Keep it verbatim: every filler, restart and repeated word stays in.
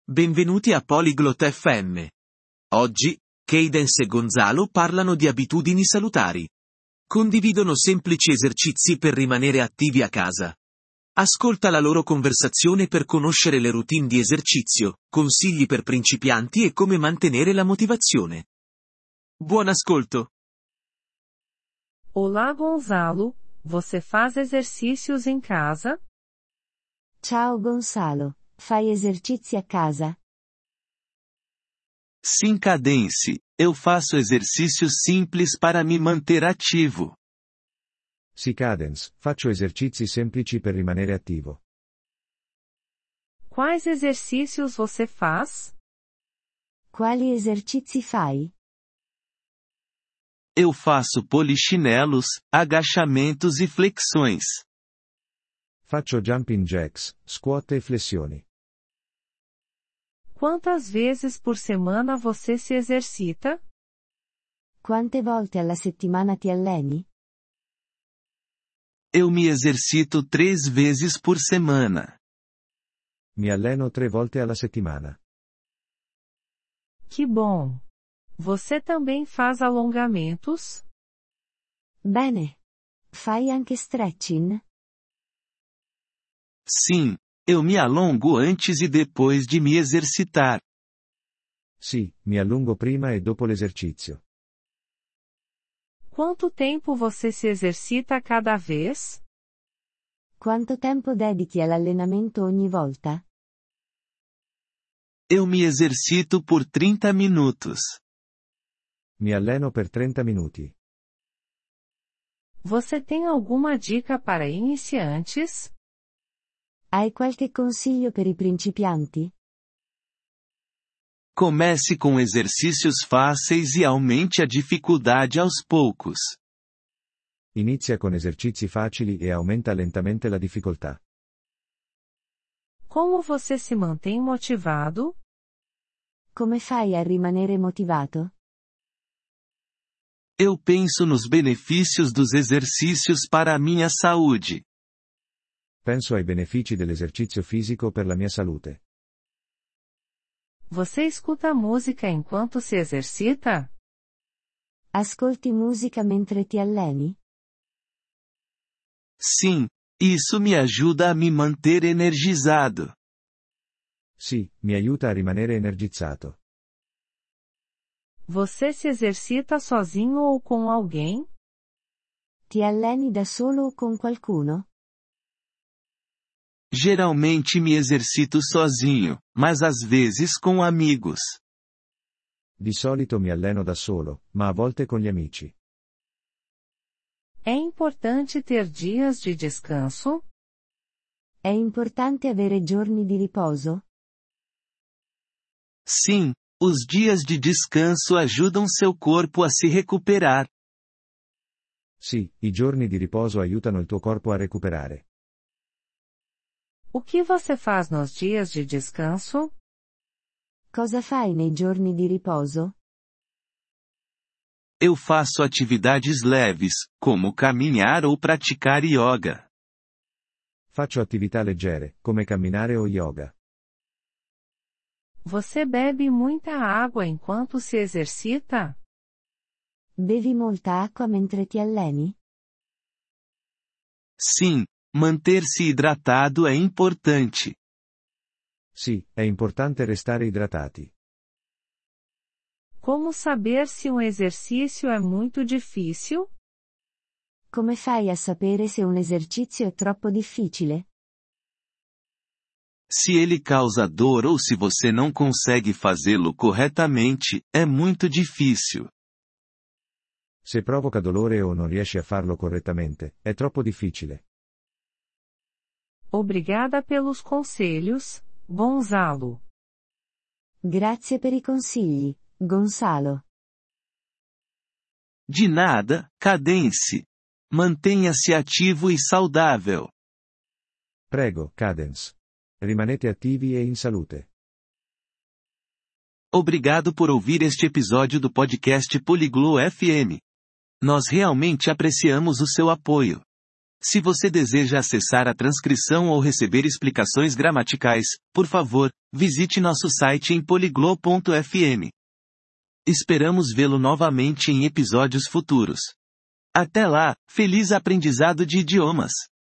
Benvenuti a Polyglot F M. Oggi, Cadence e Gonzalo parlano di abitudini salutari. Condividono semplici esercizi per rimanere attivi a casa. Ascolta la loro conversazione per conoscere le routine di esercizio, consigli per principianti e come mantenere la motivazione. Buon ascolto! Olá Gonzalo, você faz exercícios em casa? Ciao Gonzalo, fai esercizi a casa? Sim, Cadence, eu faço exercícios simples para me manter ativo. Sì, Cadence, faccio esercizi semplici per rimanere attivo. Quais exercícios você faz? Quali esercizi fai? Eu faço polichinelos, agachamentos e flexões. Faccio jumping jacks, squat e flessioni. Quantas vezes por semana você se exercita? Quante volte alla settimana ti alleni? Eu me exercito três vezes por semana. Mi alleno tre volte alla settimana. Que bom! Você também faz alongamentos? Bene. Fai anche stretching? Sim, eu me alongo antes e depois de me exercitar. Sì, mi allungo prima e dopo l'esercizio. Quanto tempo você se exercita cada vez? Quanto tempo dedichi all'allenamento ogni volta? Eu me exercito por trinta minutos. Mi alleno per trenta minuti. Você tem alguma dica para iniciantes? Hai qualche consiglio per i principianti? Comece com exercícios fáceis e aumente a dificuldade aos poucos. Inizia con esercizi facili e aumenta lentamente la difficoltà. Como você se mantém motivado? Come fai a rimanere motivato? Eu penso nos benefícios dos exercícios para a minha saúde. Penso ai benefici dell'esercizio fisico per la mia salute. Você escuta música enquanto se exercita? Ascolti musica mentre ti alleni? Sim, isso me ajuda a me manter energizado. Sì, mi aiuta a rimanere energizzato. Você se exercita sozinho ou com alguém? Ti alleni da solo o con qualcuno? Geralmente me exercito sozinho, mas às vezes com amigos. Di solito mi alleno da solo, ma a volte con gli amici. É importante ter dias de descanso? È importante avere giorni di riposo? Sim, os dias de descanso ajudam seu corpo a se recuperar. Sì, i giorni di riposo aiutano il tuo corpo a recuperare. O que você faz nos dias de descanso? Cosa fai nei giorni di riposo? Eu faço atividades leves, como caminhar ou praticar yoga. Faccio attività leggere, come camminare o yoga. Você bebe muita água enquanto se exercita? Bevi molta acqua mentre ti alleni? Sim, manter-se hidratado é importante. Sì, è importante restare idratati. Como saber se um exercício é muito difícil? Come fai a sapere se un esercizio è troppo difficile? Se ele causa dor ou se você não consegue fazê-lo corretamente, é muito difícil. Se provoca dolore o non riesci a farlo correttamente, è troppo difficile. Obrigada pelos conselhos, Gonzalo. Grazie per i consigli, Gonzalo. De nada, Cadence. Mantenha-se ativo e saudável. Prego, Cadence. Rimanete attivi e in salute. Obrigado por ouvir este episódio do podcast Polyglot F M. Nós realmente apreciamos o seu apoio. Se você deseja acessar a transcrição ou receber explicações gramaticais, por favor, visite nosso site em poliglo ponto f m. Esperamos vê-lo novamente em episódios futuros. Até lá, feliz aprendizado de idiomas!